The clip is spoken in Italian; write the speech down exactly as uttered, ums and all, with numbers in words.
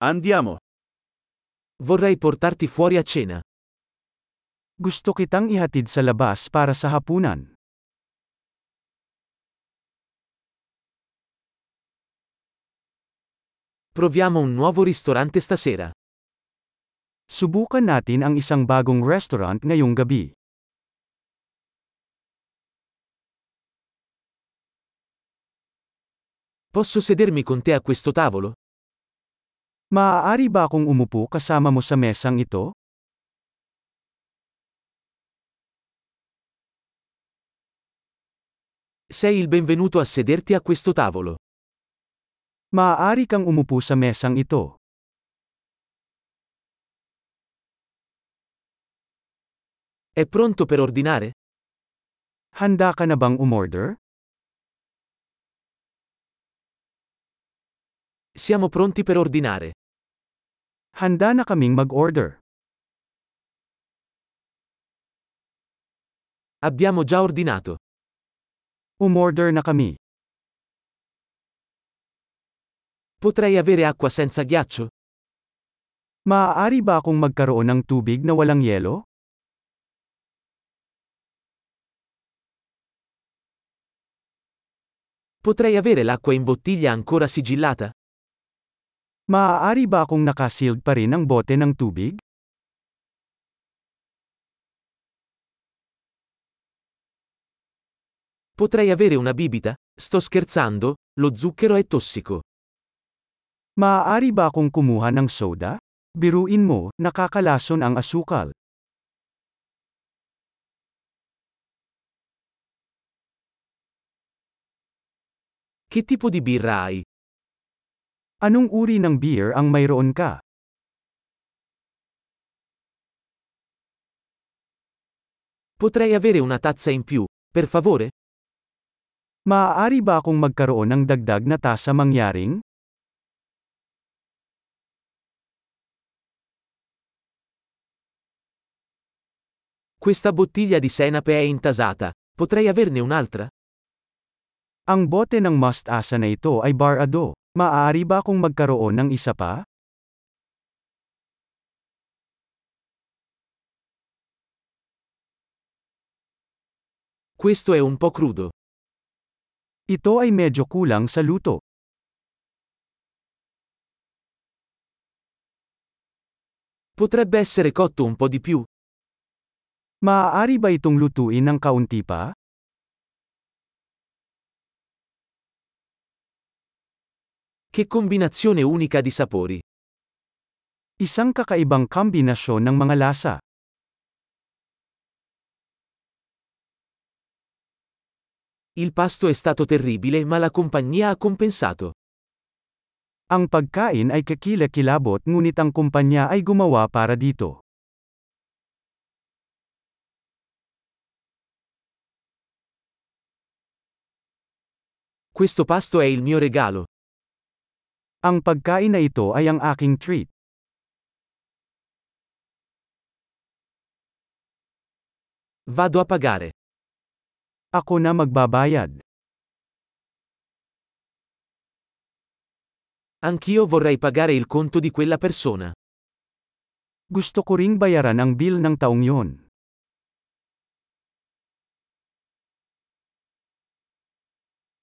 Andiamo. Vorrei portarti fuori a cena. Gusto kitang ihatid sa labas para sa hapunan. Proviamo un nuovo ristorante stasera. Subukan natin ang isang bagong restaurant ngayong gabi. Posso sedermi con te a questo tavolo? Maaari ba akong umupo kasama mo sa mesang ito? Sei il benvenuto a sederti a questo tavolo. Maaari kang umupo sa mesang ito. È pronto per ordinare? Handa ka na bang umorder? Siamo pronti per ordinare. Handa na kaming mag-order. Abbiamo già ordinato. Umorder na kami. Potrei avere acqua senza ghiaccio? Maaari ba akong magkaroon ng tubig na walang yelo? Potrei avere l'acqua in bottiglia ancora sigillata? Maaari ba akong nakasealed pa rin ang bote ng tubig? Potrei avere una bibita? Sto scherzando, lo zucchero è tossico. Maaari ba akong kumuha ng soda? Biruin mo, nakakalason ang asukal. Che tipo di birra hai? Anong uri ng beer ang mayroon ka? Potrei avere una tazza in più, per favore? Maaari ba akong magkaroon ng dagdag na tasa mangyaring? Questa bottiglia di senape è intasata. Potrei averne un'altra? Ang bote ng mustasa na ito ay barado. Maaari ba akong magkaroon ng isa pa? Questo è un po' crudo. Ito ay medyo kulang sa luto. Potrebbe essere cotto un po' di più? Maaari ba itong lutuin ng kaunti pa? Che combinazione unica di sapori. Isang kakaibang kombinasyon ng mga lasa. Il pasto è stato terribile ma la compagnia ha compensato. Ang pagkain ay kakilakilabot ngunit ang kumpanya ay gumawa para dito. Questo pasto è il mio regalo. Ang pagkain na ito ay ang aking treat. Vado a pagare. Ako na magbabayad. Anch'io vorrei pagare il conto di quella persona. Gusto ko ring bayaran ang bill ng taong yon.